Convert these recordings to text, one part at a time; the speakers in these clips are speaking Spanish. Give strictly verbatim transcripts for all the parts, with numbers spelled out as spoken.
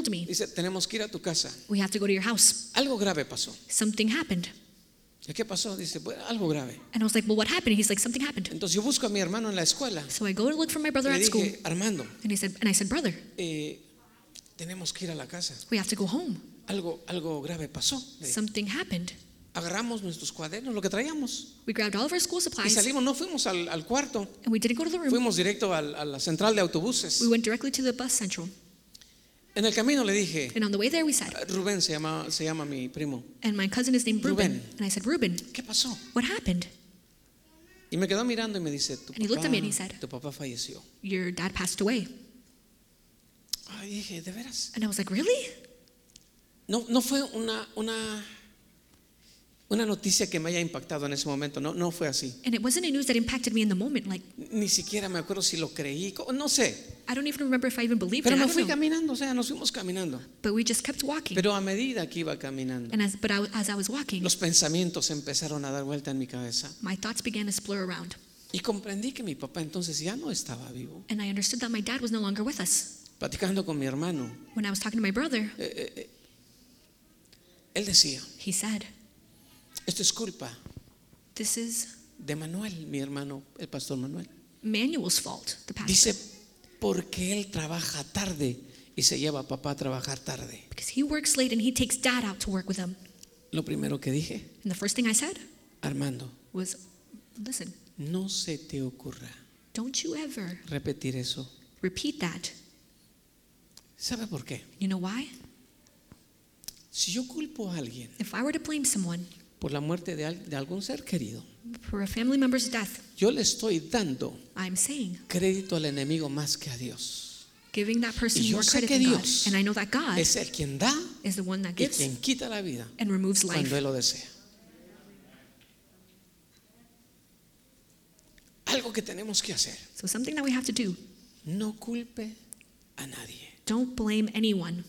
told me. Dice, tenemos que ir a tu casa. We have to go to your house. Algo grave pasó. Something happened. ¿Y qué pasó? Dice, bueno, algo grave. And I was like, well, what happened? He's like, something happened. Entonces yo busco a mi hermano en la escuela. So I go to look for my brother Le at school. dije, Armando, And he said, and I said, brother, eh, tenemos que ir a la casa. we have to go home. Algo, algo grave pasó. Le dije. Something happened. Agarramos nuestros cuadernos, lo que traíamos, We grabbed all of our school y supplies salimos. No fuimos al, al cuarto, and we didn't go to the room. fuimos directo al, a la central de autobuses. We went directly to the bus central. En el camino le dije, And on the way there we said, Rubén se llama, se llama mi primo. and my cousin is named Ruben. Ruben. And I said, Ruben, ¿Qué pasó? what happened? Y me quedó mirando y me dice, tu And he looked at me and he papá, said, tu papá falleció. your dad passed away. Ay, dije, ¿de veras? And I was like, really? No, no fue una, una, una noticia que me haya impactado en ese momento. No, no fue así. And it wasn't a news that impacted me in the moment. Like, Ni siquiera me acuerdo si lo creí. No sé. I don't even remember if I even believed Pero it. I me don't fui know. caminando, o sea, nos fuimos caminando. But we just kept walking. Pero a medida que iba caminando, And as, but I, as I was walking, los pensamientos empezaron a dar vuelta en mi cabeza. my thoughts began to splur around. Y comprendí que mi papá entonces ya no estaba vivo. And I understood that my dad was no longer with us. Platicando con mi hermano, When I was talking to my brother, eh, eh, eh, él decía, he said, esto es culpa this is de Manuel, mi hermano, el pastor Manuel. Manuel's fault, the pastor. Dice, porque él trabaja tarde y se lleva a papá a trabajar tarde. Because he works late and he takes dad out to work with him. Lo primero que dije, And the first thing I said Armando, was, listen, no se te ocurra don't you ever repetir eso. repeat that. ¿Sabe por qué? You know why? Si yo culpo a alguien If I were to blame someone por la muerte de, al- de algún ser querido, for a family member's death, yo le estoy dando I'm saying, crédito al enemigo más que a Dios. giving that person Y yo more sé credit que than God. Dios And I know that God Es el quien da is the one that y gives quien quita la vida and removes life cuando Él lo desea. Algo que tenemos que hacer. So something that we have to do, No culpe a nadie. don't blame anyone.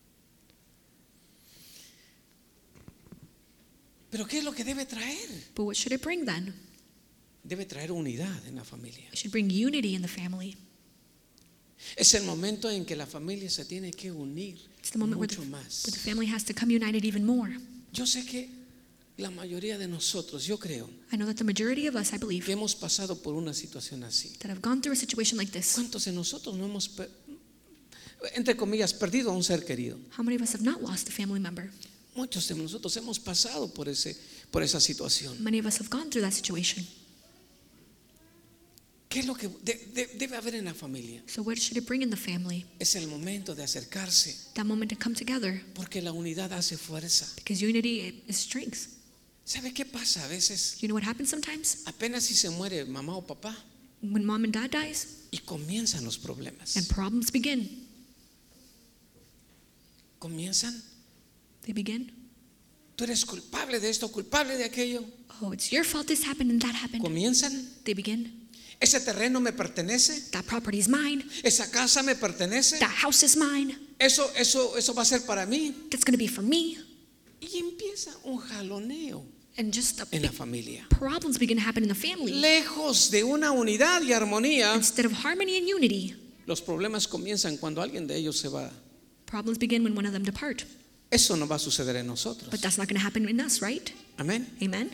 Pero ¿qué es lo que debe traer? But what should it bring then? Debe traer unidad en la familia. It should bring unity in the family. Es el momento en que la familia se tiene que unir It's the moment where the, mucho where más. the family has to come united even more. Yo sé que la mayoría de nosotros, yo creo, I know that the majority of us, I believe, que hemos pasado por una situación así. that have gone through a situation like this. ¿Cuántos de nosotros no hemos, per- entre comillas, perdido a un ser querido? How many of us have not lost a family member? Muchos de nosotros hemos pasado por, ese, por esa situación. Many of us have gone through that situation. ¿Qué es lo que de- de- debe haber en la familia? So what should it bring in the family? Es el momento de acercarse, That moment to come together, porque la unidad hace fuerza. because unity is strength. ¿Sabe qué pasa a veces? You know what happens sometimes? Apenas si se muere mamá o papá When mom and dad dies y comienzan los problemas. and problems begin. Comienzan. They begin. Tú eres culpable de esto, culpable de aquello. Oh, it's your fault this happened and that happened. Comienzan. They begin. Ese terreno me pertenece. That property is mine. Esa casa me pertenece. That house is mine. Eso, eso, eso va a ser para mí. That's going to be for me. Y empieza un jaloneo And just the en la familia. problems begin to happen in the family. Lejos de una unidad y armonía, Instead of harmony and unity, los problemas comienzan cuando alguien de ellos se va. problems begin when one of them depart. Eso no va a suceder en nosotros. But that's not going to happen in us, right? Amén. Amen?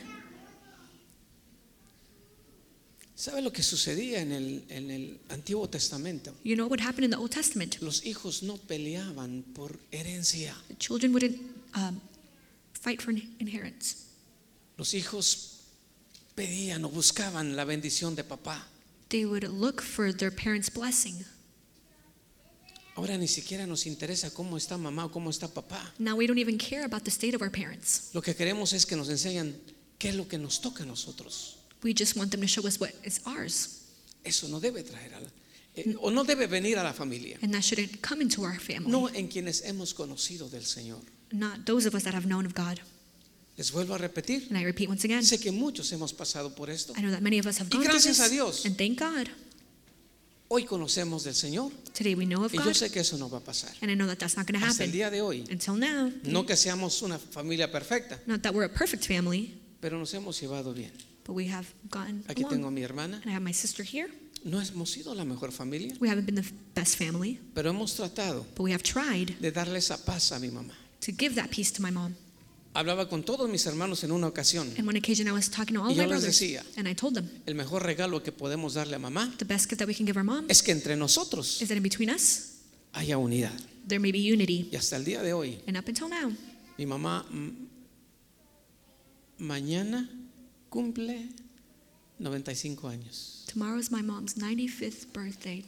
¿Sabe lo que sucedía en el, en el Antiguo Testamento? You know what happened in the Old Testament? Los hijos no peleaban por herencia. The children wouldn't um, fight for inheritance. Los hijos pedían o buscaban la bendición de papá. They would look for their parents' blessing. Ahora ni siquiera nos interesa cómo está mamá o cómo está papá. Now we don't even care about the state of our parents. Lo que queremos es que nos enseñen qué es lo que nos toca a nosotros. We just want them to show us what is ours. Eso no debe traer a la, eh, o no debe venir a la familia. And that shouldn't come into our family. No en quienes hemos conocido del Señor. Not those of us that have known of God. Les vuelvo a repetir. And I repeat once again, Sé que muchos hemos pasado por esto. I know that many of us have Y gone through gracias a this. Dios. And thank God. Hoy conocemos del Señor Today we know of y yo God. sé que eso no va a pasar. And I know that that's not going to Hasta el happen. día de hoy. Until now. No que seamos una familia perfecta, Not that we're a perfect family, pero nos hemos llevado bien. but we have gotten Aquí tengo a along. mi hermana. And I have my sister here. no hemos sido la mejor familia, We haven't been the best family, pero hemos tratado but we have tried de darle esa paz a mi mamá. to give that peace to my mom. Hablaba con todos mis hermanos en una ocasión. And one occasion I was talking to all Y of my yo les brothers, decía, and I told them, el mejor regalo que podemos darle a mamá the best gift that we can give our mom es que entre nosotros is that in between us, haya unidad. there may be unity. Y hasta el día de hoy, And up until now, mi mamá mm, mañana cumple noventa y cinco años. tomorrow is my mom's ninety-fifth birthday.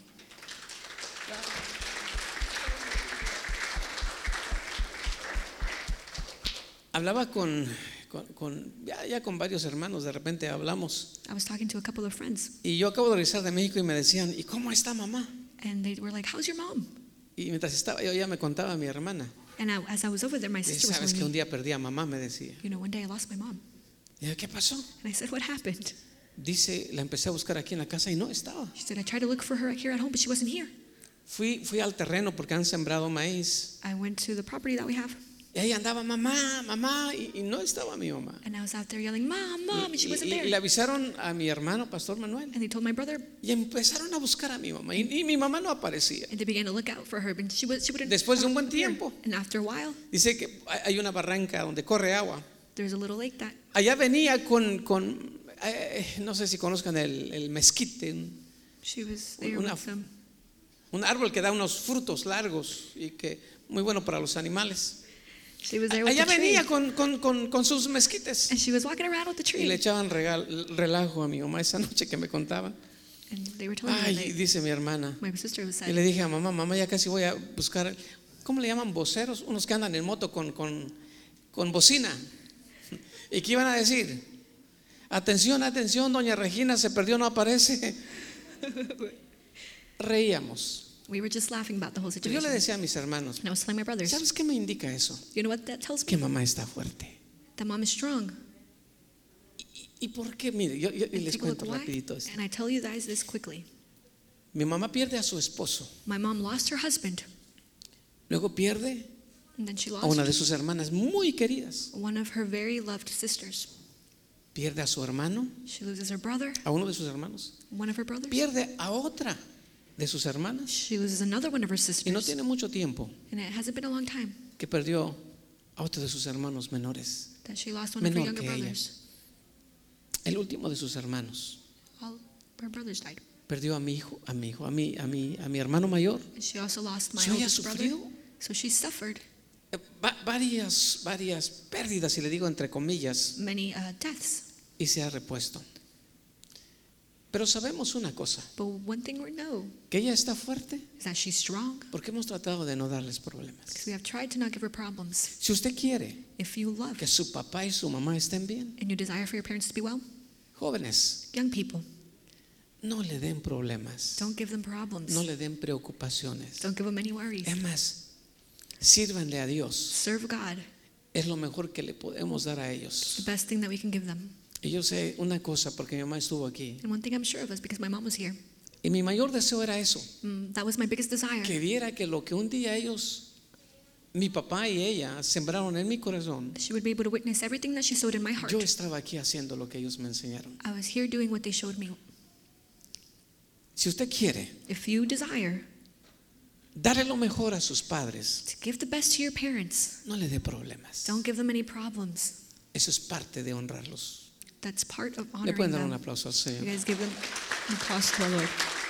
Hablaba con, con, con- ya, ya con varios hermanos, de repente hablamos. I was talking to a couple of friends, Y yo acabo de regresar de México y me decían, ¿y cómo está mamá? and they were like, how's your mom? Y mientras estaba yo ya me contaba a mi hermana. And I, as I was over there, my Y sister was sabes que telling un me, día perdí a mamá, me decía. you know, one day I lost my mom. Y yo, ¿qué pasó? And I said, what happened? Dice, la empecé a buscar aquí en la casa y no estaba. She said, I tried to look for her here at home, but she wasn't here. Fui, fui al terreno porque han sembrado maíz. I went to the property that we have, Y ahí andaba mamá, mamá, y, y no estaba mi mamá. and I was out there yelling, Mom, Mom, and she Y, wasn't y- y le there. avisaron a mi hermano, Pastor Manuel. And they told my brother, Y empezaron a buscar a mi mamá. Y, y mi mamá no aparecía. and they began to look out for her, but she, was, she wouldn't. Después de un buen appear. tiempo. And after a while, Dice que hay una barranca donde corre agua. there's a little lake that Allá venía con, con eh, no sé si conozcan el, el mezquite, un, she was there Una- with them. un árbol que da unos frutos largos y que muy bueno para los animales. She was there with Allá the tree. venía con, con, con, con sus mezquites. And she was walking around with the Y le tree. echaban regal- relajo a mi mamá esa noche que me contaba. And they were telling me Ay, that they- dice mi hermana. my sister was Y sad. le dije a mamá, mamá, ya casi voy a buscar, ¿cómo le llaman? Voceros, unos que andan en moto con, con, con bocina. ¿Y qué iban a decir? Atención, atención, doña Regina se perdió, no aparece. Reíamos. We were just laughing about the whole Yo le situation. decía a mis hermanos, And I was telling my brothers, ¿sabes qué me indica eso? you know what that tells Que me? mamá está fuerte. That mom is strong. ¿Y por qué? Mire, yo, yo- y And les take a look cuento why. rapidito esto. And I tell you guys this quickly. Mi mamá pierde a su esposo, My mom lost her husband, luego pierde and then she a una de lost sus hermanas muy queridas, one of her very loved sisters. pierde a su hermano, She loses her brother, a uno de sus hermanos, one of her brothers. pierde a otra de sus hermanas She loses another one of her y no sisters. tiene mucho tiempo And it hasn't been a long time que perdió a otro de sus hermanos menores, that she lost one of her menor younger que ella, brothers. el último de sus hermanos. All her brothers died. Perdió a mi hijo, a mi hijo, a mi, a mi, a mi hermano mayor. And she also lost my So ella oldest brother. sufrió So she suffered eh, va- varias, varias pérdidas, y le digo entre comillas, many uh, deaths. y se ha repuesto. Pero sabemos una cosa, But one thing we know que ella está fuerte is that she's strong porque hemos tratado de no darles problemas. because we have tried to not give her problems. Si usted quiere If you love que su papá y su mamá estén bien, and you desire for your parents to be well, jóvenes, young people, no le den problemas, don't give them problems. no le den preocupaciones. Don't give them any worries. Es más, sírvanle a Dios. Serve God. Es lo mejor que le podemos dar a The ellos. best thing that we can give them. Y yo sé una cosa porque mi mamá estuvo aquí. And one thing I'm sure of is because my mom was here. Y mi mayor deseo era eso, Mm, that was my biggest desire. que viera que lo que un día ellos, mi papá y ella, sembraron en mi corazón, She would be able to witness everything that she sowed in my heart. yo estaba aquí haciendo lo que ellos me enseñaron. I was here doing what they showed me. Si usted quiere If you desire darle lo mejor a sus padres, to give the best to your parents, no le dé problemas. don't give them any problems. Eso es parte de honrarlos. That's part of Le honoring pueden dar un them. aplauso al You Señor. guys give them a applause to our Lord.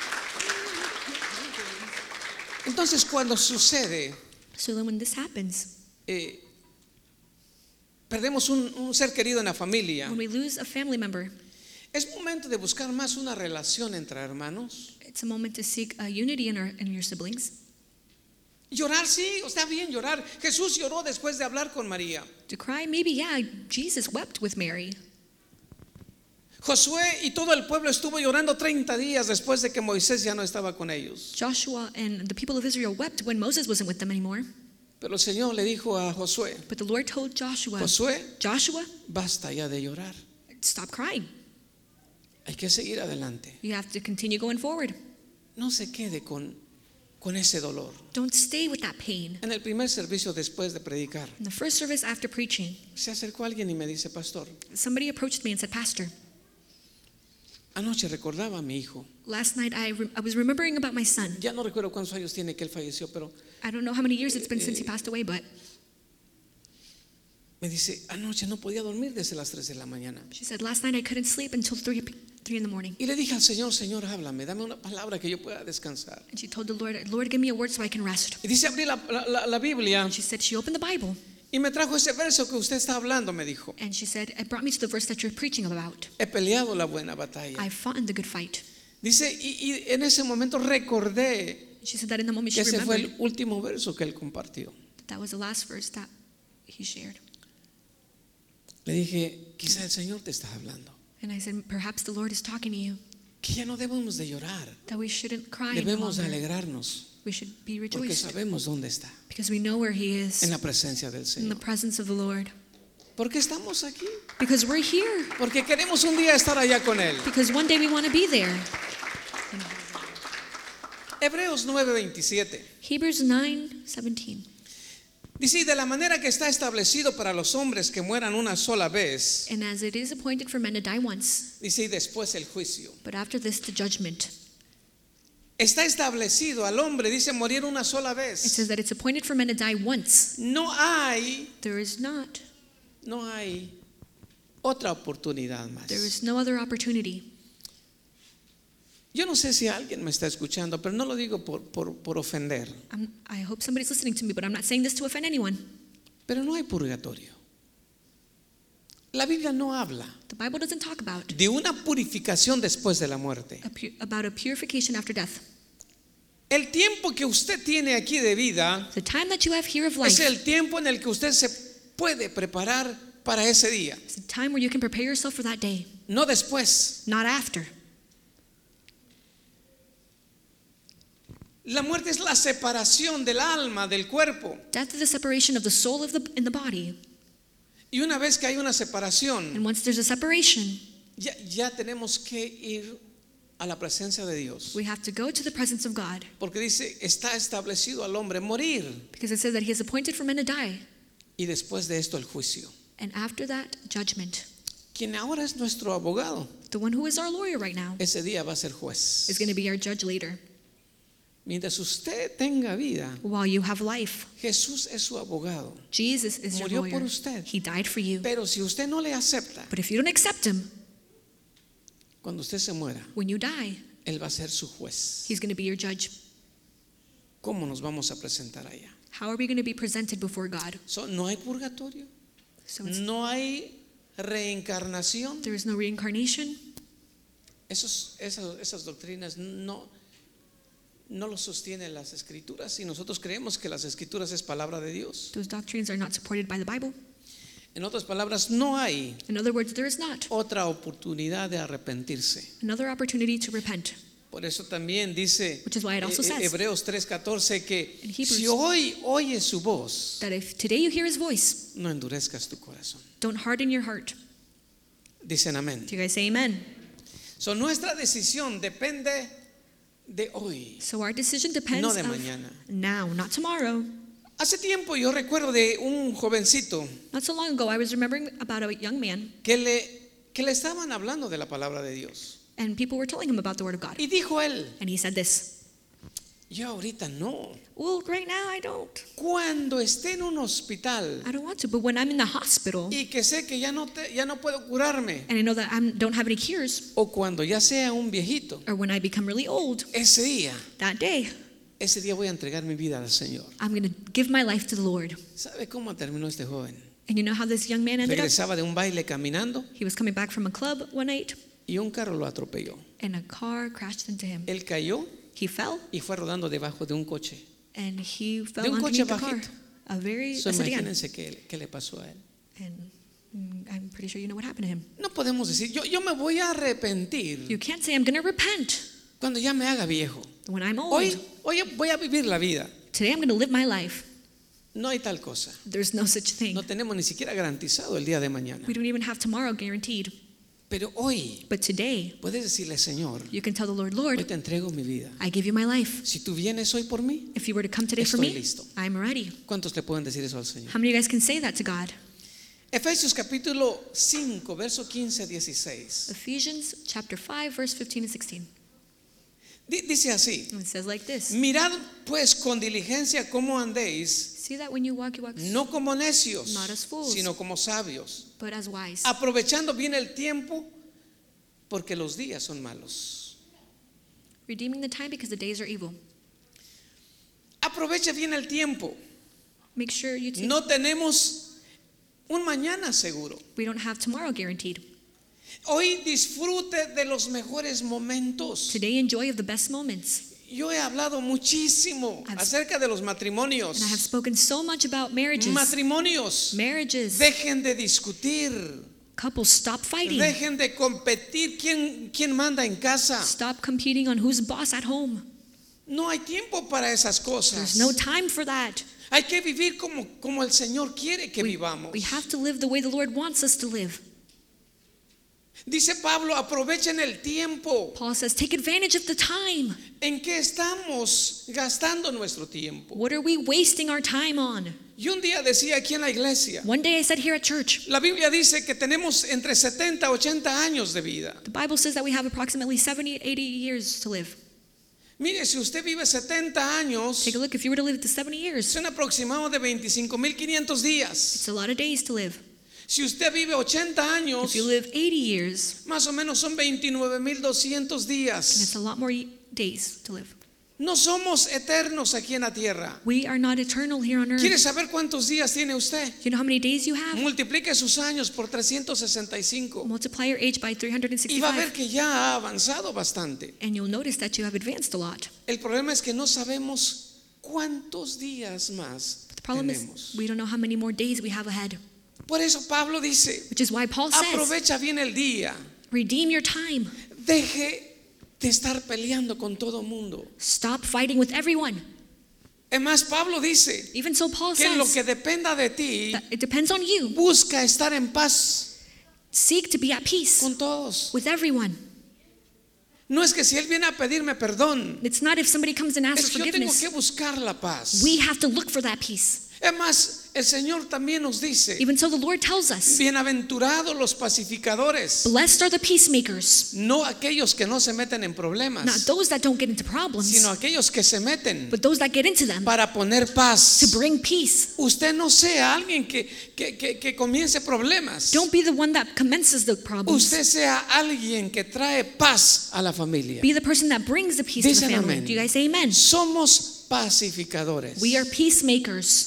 Entonces, cuando sucede, So then when this happens, eh, perdemos un, un ser querido en la familia, when we lose a family member, es momento de buscar más una relación entre hermanos. it's a moment to seek a unity in, our, in your siblings. Llorar, sí, está bien llorar. Jesús lloró después de hablar con María. To cry, maybe, yeah, Jesus wept with Mary. Josué y todo el pueblo estuvo llorando treinta días después de que Moisés ya no estaba con ellos. Joshua and the people of Israel wept when Moses wasn't with them anymore. Pero el Señor le dijo a Josué, But the Lord told Joshua, Josué, Joshua, basta ya de llorar. stop crying. Hay que seguir adelante. You have to continue going forward. No se quede con, con ese dolor. Don't stay with that pain. En el primer servicio después de predicar, In the first service after preaching, se acercó alguien y me dice, pastor, somebody approached me and said, Pastor, Anoche recordaba a mi hijo. Last night I, re- I was remembering about my son. Ya no recuerdo cuántos años tiene que él falleció, pero I don't know how many years it's been since he passed away, but me dice, anoche no podía dormir desde las tres de la mañana. she said, last night I couldn't sleep until three, three in the morning. Y le dije al Señor, Señor, háblame, dame una palabra que yo pueda descansar. And she told the Lord, Lord, give me a word so I can rest. Y dice, abrí la, la, la Biblia And she said, she opened the Bible, y me trajo ese verso que usted está hablando, me dijo. and she said, it brought me to the verse that you're preaching about. He peleado la buena batalla. I fought in the good fight. Dice, y, y en ese momento recordé She said that in the moment que she ese fue remembered el último verso que él compartió. that, that was the last verse that he shared. Le dije, quizá el Señor te está hablando. And I said, perhaps the Lord is talking to you, Que ya no debemos de llorar, that we shouldn't cry any debemos de longer. alegrarnos, We should be porque rejoiced sabemos dónde está, because we know where he en is, la presencia del in the Señor. presence of the Lord. ¿Por qué estamos aquí? Because we're here. Porque queremos un día estar allá con Él. Because one day we want to be there. Hebreos nueve veintisiete. Hebrews nine seventeen. Dice, y de la manera que está establecido para los hombres que mueran una sola vez, And as it is appointed for men to die once, dice, y después el juicio. but after this the judgment. Está establecido al hombre, dice, morir una sola It vez. says that it's appointed for men to die once. No hay, There is not. no hay otra oportunidad más. There is no other opportunity. Yo no sé si alguien me está escuchando, pero no lo digo por, por, por ofender. I'm, I hope somebody's listening to me, but I'm not saying this to offend anyone. Pero no hay purgatorio. La Biblia no habla The Bible doesn't talk about de una purificación después de la muerte. a pu- about a purification after death. El tiempo que usted tiene aquí de vida The time that you have here of es life el tiempo en el que usted se puede preparar para ese día, is the time where you can prepare yourself for that day, no después. not after. La muerte es la separación del alma del cuerpo. Death is the separation of the soul of the in the body. Y una vez que hay una separación, And once there's a separation, ya, ya tenemos que ir a la presencia de Dios. we have to go to the presence of God, Porque dice, está establecido al hombre morir. because it says that he is appointed for men to die, Y después de esto el juicio. and after that, judgment. Quien ahora es nuestro abogado, The one who is our lawyer right now ese día va a ser juez. is going to be our judge later. Mientras usted tenga vida, While you have life, Jesús es su abogado. Jesus is your Murió lawyer. por usted. He died for you. Pero si usted no le acepta, But if you don't accept him, cuando usted se muera, when you die, Él va a ser su juez. he's going to be your judge. ¿Cómo nos vamos a presentar allá? How are we going to be presented before God? So, no hay purgatorio, So it's, no hay reencarnación. there is no reincarnation. Esos, esas, esas doctrinas no, no lo sostienen las escrituras y nosotros creemos que las escrituras es palabra de Dios. Those doctrines are not supported by the Bible. En otras palabras, no hay In other words, there is not otra oportunidad de arrepentirse. another opportunity to repent. Por eso también dice Which is why it also eh, eh, says Hebreos tres catorce que in Hebrews si hoy oyes su voz, that if today you hear his voice, no endurezcas tu corazón. don't harden your heart. Dicen amén. Do you guys say amen? So, nuestra decisión depende de hoy, So our decision depends no de of mañana. now, not tomorrow. Hace tiempo yo recuerdo de un jovencito Not so long ago, I was remembering about a young man, que le, que le estaban hablando de la palabra de Dios. and people were telling him about the Word of God. Y dijo él, And he said this, yo ahorita no. well, right now I don't. Cuando esté en un hospital I don't want to. But when I'm in the hospital, y que sé que ya no, te, ya no puedo curarme, and I know that I don't have any cures, o cuando ya sea un viejito, or when I become really old, ese día, that day, ese día voy a entregar mi vida al Señor. I'm going to give my life to the Lord. ¿Sabe cómo terminó este joven? And you know how this young man ended up? Regresaba de un baile caminando He was coming back from a club one night, y un carro lo atropelló. and a car crashed into him. Él cayó He fell, y fue rodando debajo de un coche. and he fell De un coche underneath the car. bajito. A very, So, I said again, imagínense qué, qué le pasó a él. and mm, I'm pretty sure you know what happened to him. No podemos decir, yo, yo me voy a You arrepentir can't say, I'm going to repent cuando ya me haga viejo. when I'm old. Hoy, hoy voy a vivir la vida. Today I'm going to live my life. No hay tal cosa. There's no such thing. No tenemos ni siquiera garantizado el día de mañana. We don't even have tomorrow guaranteed. Pero hoy But today, puedes decirle, Señor, you can tell the Lord, hoy Lord, te entrego mi vida. I give you my life. Si tú vienes hoy por mí, If you were to come today for Estoy me, listo. I'm ready. ¿cuántos le pueden decir eso al Señor? How many of you guys can say that to God? Efesios capítulo cinco, verso quince a dieciséis. Ephesians chapter five, verse fifteen and sixteen. Di- Dice así: And it says like this. mirad pues con diligencia cómo andéis, See that when you walk, you walk no como necios, Not as fools. sino como sabios, but as wise. aprovechando bien el tiempo, porque los días son malos. Redeeming the time because the days are evil. Aprovecha bien el tiempo. Make sure you take, No tenemos un mañana seguro. we don't have tomorrow guaranteed. Hoy disfrute de los mejores momentos. Today enjoy of the best moments. Yo he hablado muchísimo I've- acerca de los matrimonios. And I have spoken so much about marriages. Matrimonios, Marriages. dejen de discutir, Couples, stop fighting. dejen de competir quién, quién manda en casa. Stop competing on who's boss at home. No hay tiempo para esas cosas. There's no time for that. Hay que vivir como, como el Señor quiere que We, vivamos. we have to live the way the Lord wants us to live. Dice Pablo, aprovechen el tiempo. Paul says, take advantage of the time. ¿En qué estamos gastando nuestro tiempo? What are we wasting our time on? Y un día decía aquí en la iglesia, One day I said here at church, la Biblia dice que tenemos entre setenta y ochenta años de vida. the Bible says that we have approximately seventy, eighty years to live. Mire, si usted vive setenta años, Take a look, if you were to live to seventy years, es un aproximado de veinticinco mil quinientos días. it's a lot of days to live. Si usted vive ochenta años, If you live eighty years, más o menos son veintinueve mil doscientos then días. it's a lot more ye- days to live. No somos eternos aquí en la tierra. We are not eternal here on ¿Quiere earth. saber cuántos días tiene usted? You know how many days you have? Multiplique sus años por trescientos sesenta y cinco Multiply your age by y va a ver three hundred sixty-five, que ya ha avanzado bastante. and you'll notice that you have advanced a lot. El problema es que no sabemos cuántos días más But the problem tenemos. is we don't know how many more days we have ahead, Por eso Pablo dice, which is why Paul says, aprovecha bien el día. redeem your time. Deje de estar peleando con todo mundo. Stop fighting with everyone. Es más, Pablo dice Even so, Paul que en lo says que dependa de ti, that it depends on you. busca estar en paz Seek to be at peace con todos. with everyone. No es que si él viene a pedirme perdón, It's not if somebody comes and asks es for que yo tengo forgiveness. que buscar la paz. We have to look for that peace. Es más, el Señor también nos dice, Even so, the Lord tells us, bienaventurados los pacificadores, blessed are the peacemakers, no aquellos que no se meten en not problemas, those that don't get into problems, sino aquellos que se meten but those that get into them para poner to paz. bring peace. Usted no sea alguien que, que, que, que comience problemas. Don't be the one that commences the problems. Usted sea alguien que trae paz a la familia. Be the person that brings the peace to the Dicen family. amén. Do you guys say amen? Somos pacificadores. We are peacemakers.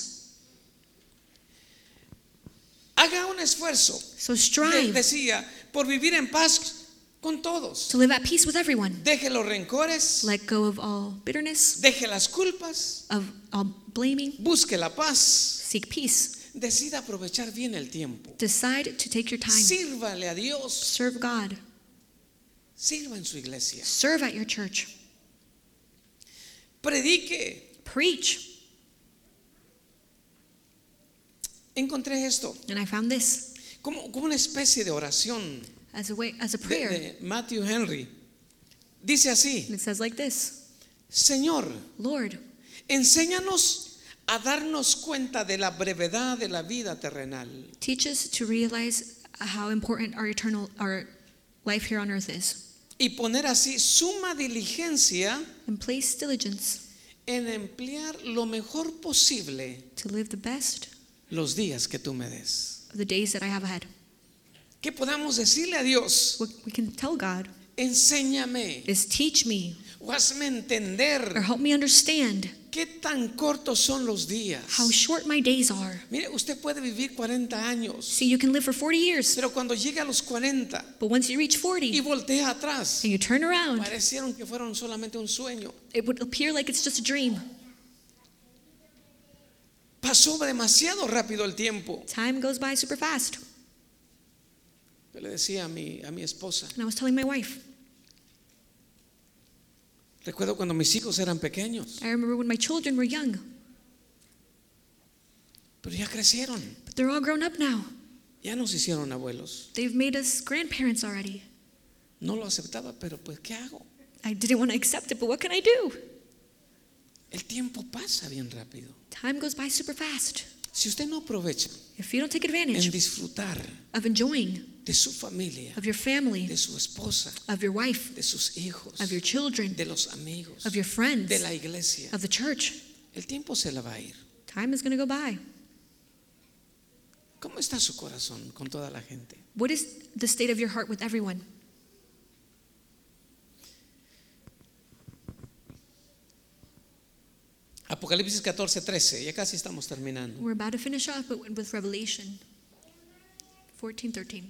Haga un esfuerzo, So de- strive decía, por vivir en paz con todos. to live at peace with everyone. Deje los rencores, Let go of all bitterness, deje las culpas, of all blaming. busque la paz. Seek peace. Decida aprovechar bien el tiempo. Decide to take your time. Sírvale a Dios. Serve God. Sirva en su iglesia. Serve at your church. Predique. Preach. Encontré esto And I found this como, como una especie de oración as a way, as a de, prayer. de Matthew Henry. Dice así: And it says like this: Señor, Lord, enséñanos a darnos cuenta de la brevedad de la vida terrenal teach us to realize how important our eternal, our life here on earth is, y poner así suma diligencia and place diligence en emplear lo mejor posible to live the best los días que tú me des. of the days that I have ahead. Que podamos decirle a Dios: What we can tell God enséñame is teach me o hazme or entender help me understand qué tan cortos son los días. how short my days are. Mire, usted puede vivir cuarenta años, See, you can live for forty years, pero cuando llega a los cuarenta but once you reach y forty voltea atrás, and you turn around, parecieron que fueron solamente un sueño. it would appear like it's just a dream. Pasó demasiado rápido el tiempo. Time goes by super fast. Yo le decía a mi, a mi esposa, And I was telling my wife, recuerdo cuando mis hijos eran pequeños, I remember when my children were young, pero ya crecieron, but they're all grown up now. ya nos hicieron abuelos. They've made us grandparents already. No lo aceptaba, pero pues ¿qué hago? I didn't want to accept it, but what can I do? El tiempo pasa bien rápido. Time goes by super fast. Si usted no aprovecha if you don't take en advantage disfrutar of enjoying de su familia, of your family, de su esposa, of your wife, de sus hijos, of your children, de los amigos, of your friends, de la iglesia, of the church, el tiempo se la va a ir. time is going to go by. ¿Cómo está su corazón con toda la gente? What is the state of your heart with everyone? Apocalipsis catorce, trece, ya casi estamos terminando. We're about to finish off, but with Revelation fourteen thirteen.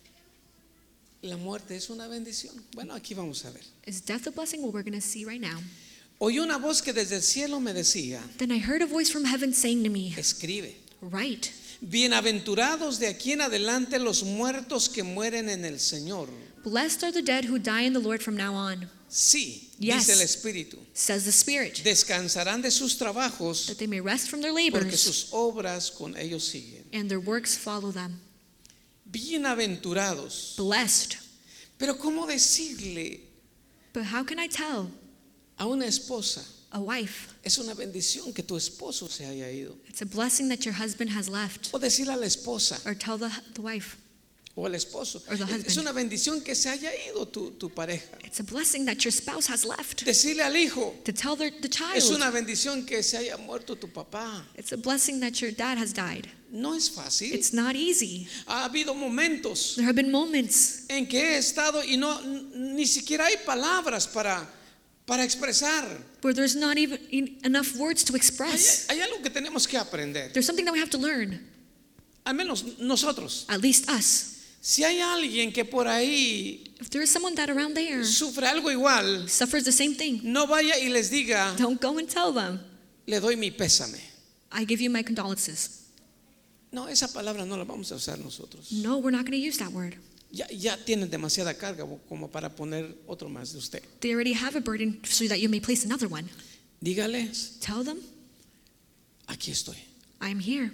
La muerte es una bendición. Bueno, aquí vamos a ver. Is death a blessing? Well, we're going to see right now. Oí una voz que desde el cielo me decía, Then I heard a voice from heaven saying to me, escribe, write, bienaventurados de aquí en adelante los muertos que mueren en el Señor. blessed are the dead who die in the Lord from now on, Sí, Yes. dice el Espíritu. says the Spirit, Descansarán de sus trabajos that they may rest from their porque labors sus obras con ellos siguen. and their works follow them. Bienaventurados. Blessed. Pero ¿cómo decirle But how can I tell a una esposa? a wife? Es una bendición que tu esposo se haya ido. It's a blessing that your husband has left. O decirle a la esposa Or tell the, the wife. o al esposo. Or the husband. Es una bendición que se haya ido tu, tu pareja. It's a blessing that your spouse has left. Decirle al hijo. To tell the, the Es child. una bendición que se haya muerto tu papá. It's a blessing that your dad has died. No es fácil. It's not easy. Ha habido momentos There have been moments en que he estado y no ni siquiera hay palabras para para expresar. where there's not even en- enough words to Hay, express. hay algo que tenemos que aprender. There's something that we have to learn, Al menos nosotros. at least us. Si hay alguien que por ahí If there is someone that around there sufre algo igual, suffers the same thing, no vaya y les diga, don't go and tell them, le doy mi pésame. I give you my condolences. No, esa palabra no la vamos a usar nosotros. No, we're not going to use that word. Ya, ya tienen demasiada carga como para poner otro más de usted. They already have a burden so that you may place another one. Dígales, Tell them, aquí estoy. I'm here.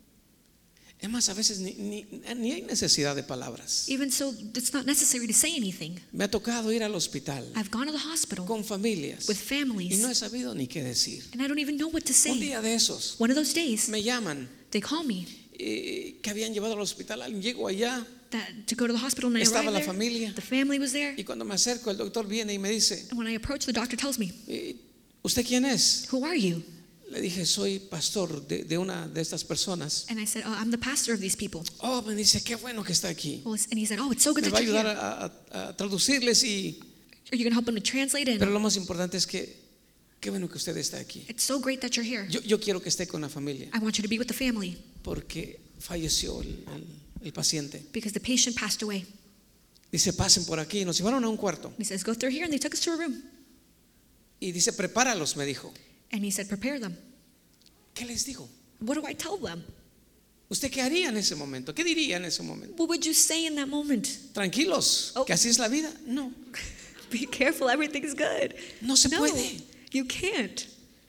Es más, a veces ni, ni, ni hay necesidad de palabras. Even so, it's not necessary to say anything. Me ha tocado ir al hospital I've gone to the hospital con familias with y families, no he sabido ni qué decir. and I don't even know what to Un say. día de esos One of those days, me llaman they call me eh, que habían llevado al hospital. Alguien llegó allá that to go to the hospital, and I Estaba arrived la there. familia. The family was there, y cuando me acerco el doctor viene y me dice, and when I approach, the doctor tells me, eh, ¿usted quién es? "Who are you?" Le dije, soy pastor de, de una de estas personas. And I said, "Oh, I'm the pastor of these people." Oh, me dice, qué bueno que está aquí. Well, and he said, "Oh, it's so good Me that va a you're ayudar here. a, a- a traducirles y... Are you going to help them to translate it? Pero lo más importante es que, qué bueno que usted está aquí. It's so great that you're here. Yo, yo quiero que esté con la familia I want you to be with the family porque falleció el, el- el paciente. because the patient passed away." Dice, pasen por aquí. Nos llevaron a un cuarto. And he says, "Go through here," and they took us to a room. Y dice, prepáralos, me dijo. And he said, "Prepare them." ¿Qué les digo? What do I tell them? ¿Usted qué haría en ese momento? ¿Qué diría en ese momento? What would you say in that moment? ¿Tranquilos? Oh. ¿Que así es la vida? No, Be careful, everything's good. no se No, puede. you can't.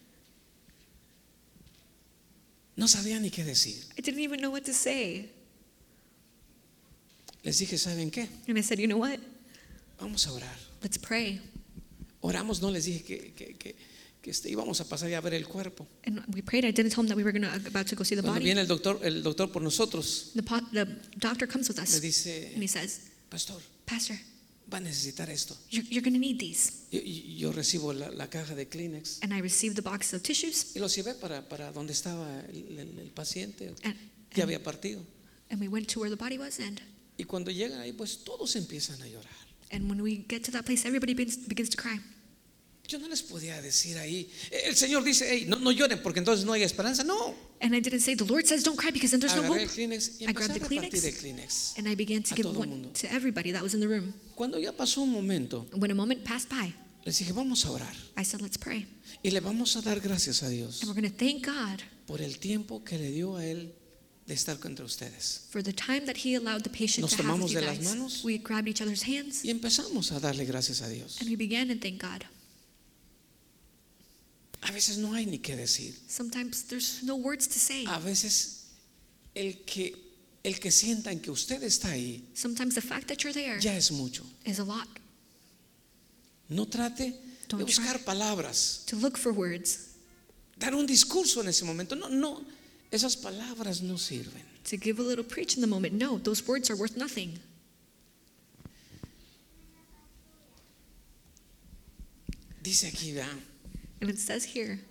No sabía ni qué decir. I didn't even know what to say. Les dije, ¿saben qué? And I said, "You know what? Vamos a orar. Let's pray." Oramos, no les dije que, que, que, que este, íbamos a pasar ya a ver el cuerpo. And we prayed. I didn't tell him that we were gonna, about to go see the Cuando body. viene el doctor, el doctor por nosotros, The, po- the doctor comes with le us and dice, he says, pastor, "Pastor, va a necesitar esto. you're, you're going to need these." Yo, yo recibo la, la caja de Kleenex And I received the box of tissues, y los llevé para, para donde estaba el, el- el paciente. and, Ya and, había partido. and we went to where the body was. And, Y cuando llegan ahí, pues todos empiezan a llorar. and when we get to that place, everybody begins, begins to cry. Yo no les podía decir ahí. El Señor dice, hey, no, no lloren porque entonces no hay esperanza. No. And I didn't say, "The Lord says don't cry because then there's no Agarré hope." el Kleenex y I empecé a grabbed the repartir Kleenex. el Kleenex. And I began to A give todo one mundo. to everybody that was in the room. Cuando ya pasó un momento, When a moment passed by, les dije, vamos a orar. I said, "Let's pray. Y le vamos a dar gracias a Dios And we're going to thank God por el tiempo que le dio a Él de estar entre ustedes. for the time that He allowed the patient Nos to have with tomamos you de las guys." manos. We grabbed each other's hands Y empezamos a darle gracias a Dios. and we began to thank God. A veces no hay ni qué decir. Sometimes there's no words to say. A veces el que, el que sientan que usted está ahí Sometimes the fact that you're there ya es mucho. is a lot. No trate de Don't buscar try. palabras, To look for words, dar un discurso en ese momento. No, no. Esas palabras no sirven. To give a little preach in the moment. No, those words are worth nothing. Dice aquí, ¿verdad? And it says here,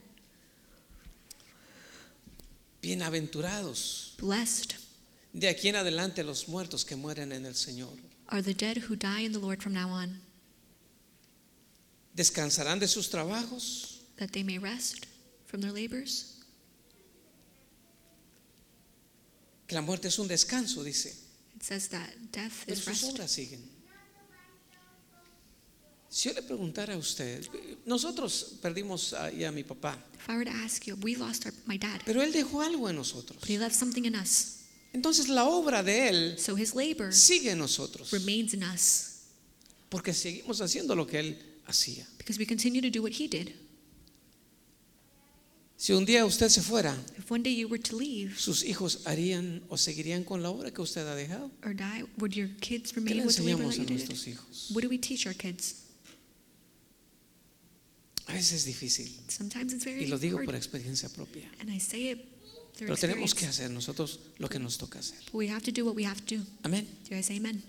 Bienaventurados blessed de aquí en adelante los muertos que mueren en el Señor. are the dead who die in the Lord from now on, Descansarán de sus trabajos, that they may rest from their labors. que la muerte es un descanso, dice. It says that death Pero is sus rest. obras siguen. Si yo le preguntara a usted, nosotros perdimos a, y a mi papá, If I were to ask you, we lost our, my dad, pero él dejó algo en nosotros. but he left something in us. Entonces la obra de él So his labor sigue en nosotros, remains in us porque seguimos haciendo lo que él hacía. because we continue to do what he did. Si un día usted se fuera, If one day you were to leave sus hijos harían o seguirían con la obra que usted ha dejado. or die, would your kids ¿Qué le remain with the labor enseñamos that a you did? nuestros hijos? What do we teach our kids? A veces es difícil, Sometimes it's very y lo digo hard. por experiencia propia. And I say it through Pero tenemos que experience. hacer nosotros lo que nos toca hacer. But we have to do what we have to do. Amén. Do you guys say amen?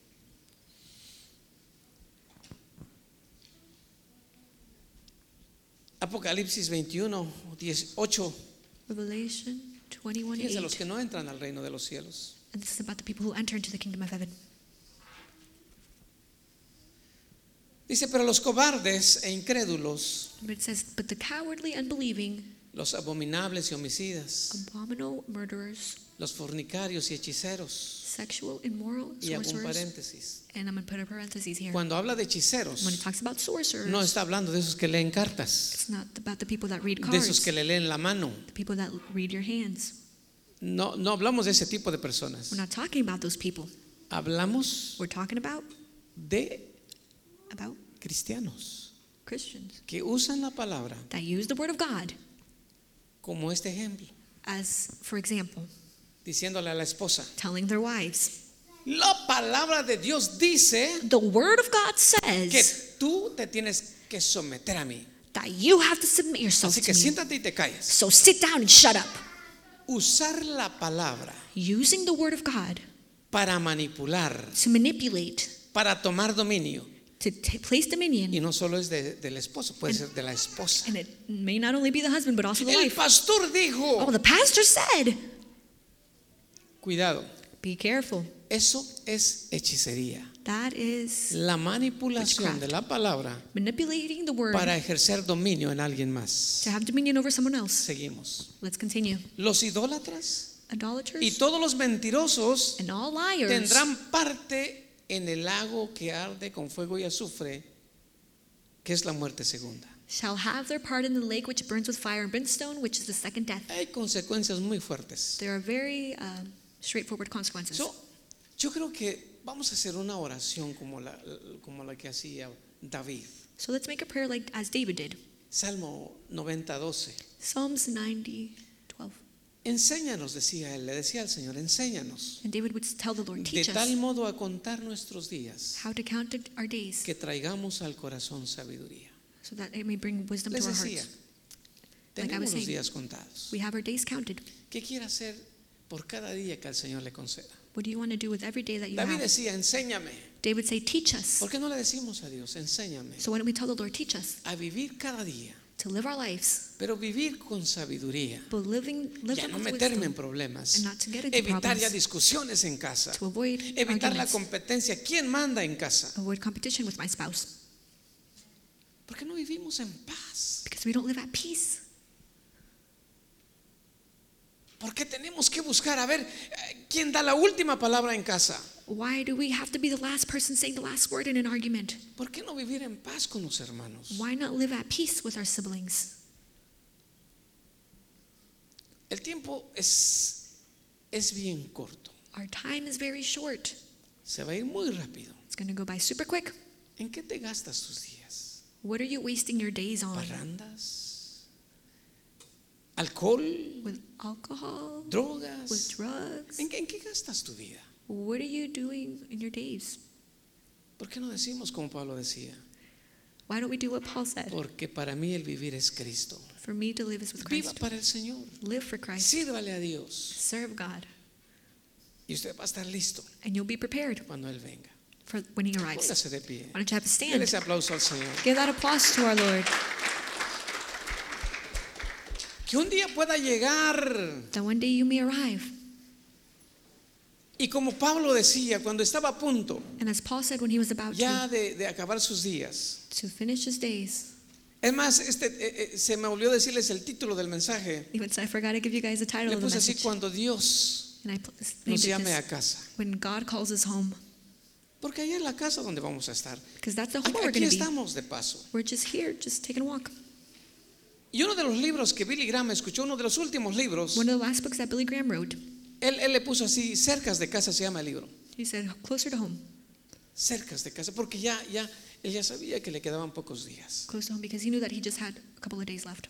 Apocalipsis veintiuno, dieciocho. Revelation twenty-one Fíjense los eight. que no entran al reino de los cielos. And this is about the people who enter into the kingdom of heaven. Dice, pero los cobardes e incrédulos, But it says, but the cowardly, unbelieving, los abominables y homicidas, abominable, murderers, los fornicarios y hechiceros. sexual, immoral, Y hago un sorcerers. paréntesis. And I'm going to put a parenthesis here. Cuando habla de When it hechiceros, talks about sorcerers, no está hablando de esos que leen cartas, it's not about the people that read de esos cards, que le leen la mano. the people that read your hands. No, no hablamos de ese tipo de personas. We're not talking about those people. Hablamos We're talking about de about cristianos Christians que usan la palabra that use the word of God como este ejemplo, as, for example, diciéndole a la esposa, telling their wives, la palabra de Dios dice the word of God que says tú te tienes que someter a mí. that you have to submit yourself Así to que me. siéntate y te calles. So sit down and shut up. Usar la palabra Using the word of God para manipular, to manipulate, para tomar dominio. to t- place dominion, Y no solo es de- del esposo, puede ser de la esposa. and it may not only be the husband but also the El wife. pastor Oh, dijo, the pastor said, cuidado, be careful. eso es hechicería. That is La manipulación Witchcraft. de la palabra manipulating the word para ejercer dominio en alguien más. to have dominion over someone else. Seguimos. Let's continue. Los idólatras y Idolaters todos los mentirosos and all liars tendrán parte en el lago que arde con fuego y azufre, que es la muerte segunda. shall have their part in the lake which burns with fire and brimstone, which is the second death. Hay consecuencias muy fuertes. There are very uh, straightforward consequences. So, yo creo que vamos a hacer una oración como la, como la que hacía David. So let's make a prayer like as David did. Salmo noventa, doce. Psalms ninety, twelve. Enséñanos, decía él, le decía al Señor, enséñanos And David would tell the Lord, de teach tal us modo a contar nuestros días how to count our days que traigamos al corazón sabiduría. so that it may bring wisdom Les to our decía, hearts. Like I tenemos was los saying, días contados. we have our days counted. ¿Qué quiere hacer por cada día que al Señor le conceda? What do you want to do with every day that you David have? decía, enséñame. David would say, teach us. ¿Por qué no le decimos a Dios, enséñame So why don't we tell the Lord, teach us a vivir cada día, to live our lives, pero vivir con sabiduría? but living, Ya living no with meterme en wisdom, problemas, and not to get into evitar ya problems, discusiones en casa, to avoid evitar la arguments, competencia. ¿Quién manda en casa? avoid competition with my spouse, ¿Por qué no vivimos en paz? because we don't live at peace. ¿Por qué tenemos que buscar a ver eh, quién da la última palabra en casa? Why do we have to be the last person saying the last word in an argument? ¿Por qué no vivir en paz con los hermanos? Why not live at peace with our siblings? El tiempo es, es bien corto. Our time is very short. Se va a ir muy rápido. It's going to go by super quick. ¿En qué te gastas tus días? What are you wasting your days on? ¿Parrandas? ¿Alcohol? With alcohol? With ¿Drogas? drugs? ¿En qué, en qué gastas tu vida? What are you doing in your days? ¿Por qué no decimos como Pablo decía? Why don't we do what Paul said? Porque para mí el vivir es Cristo. For me to live is with Viva Christ. para el Señor. Live for Christ. Sírvale a Dios. Serve God. Y usted va a estar listo And you'll be prepared cuando Él venga. for when he arrives. Póngase de pie. Why don't you have a Dele stand? ese aplauso al Señor. Give that applause to our Lord. Que un día pueda llegar. That one day you may arrive. Y como Pablo decía, cuando estaba a punto And as Paul said when he was about ya to, de, de acabar sus días. to finish his days. Es más, este, eh, eh, se me olvidó decirles el título del mensaje. Even so, I forgot to give you guys the title Le of the puse así: message. cuando Dios And I pl- nos named it llame a this, casa. when God calls us home. Porque allá es la casa donde vamos a estar. Because that's the Aquí, home we're aquí going to be. estamos de paso. We're just here, just taking a walk. Y uno de los libros que Billy Graham escuchó, uno de los últimos libros, One of the last books that Billy Graham wrote, él, él le puso así: cercas de casa se llama el libro. he said, closer to home. Cercas de casa, porque ya, ya, él ya sabía que le quedaban pocos días. Close to home because he knew that he just had a couple of days left.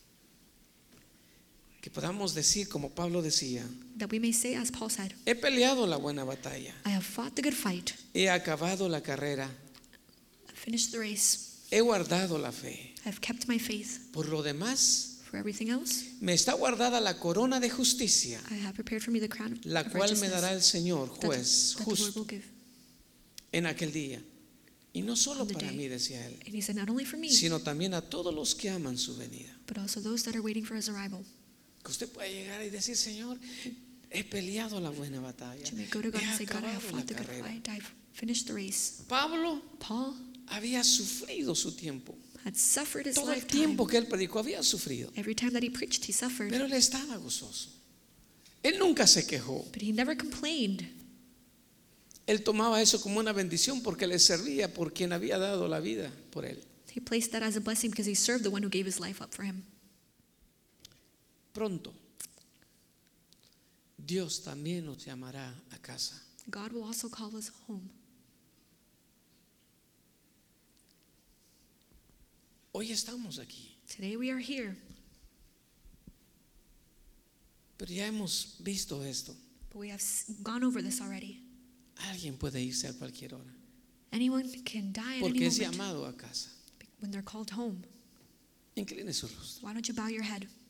Que podamos decir, como Pablo decía: That we may say, as Paul said, he peleado la buena batalla, I have fought the good fight. he acabado la carrera, I've finished the race. he guardado la fe. I've kept my faith. Por lo demás, For everything else, me está guardada la corona de justicia, I have prepared for me the crown of la of cual me righteousness dará el Señor, that, juez that the Lord justo, will give. en aquel día. Y no solo On the para day. mí, decía él, And he said, not only for me, sino también a todos los que aman su venida. but also those that are waiting for his arrival. Que usted pueda llegar y decir: Señor, he peleado la buena batalla, You may go to God he and say, God, I have acabado la fought the good carrera. fight. I've finished the race. Pablo Paul había sufrido su tiempo. had suffered his Todo el lifetime. tiempo que él predicó había sufrido. Every time that he preached, he suffered. Pero él estaba gozoso. Él nunca se quejó. But he never complained. Él tomaba eso como una bendición porque le servía por quien había dado la vida por él. He placed that as a blessing because he served the one who gave his life up for him. Pronto, Dios también nos llamará a casa. God will also call us home. Hoy estamos aquí, Today we are here, pero ya hemos visto esto. but we have s- gone over this already. Alguien puede irse a cualquier hora Anyone can die at any porque es moment llamado a casa. when they're called home. Incline su rostro. Why don't you bow your head?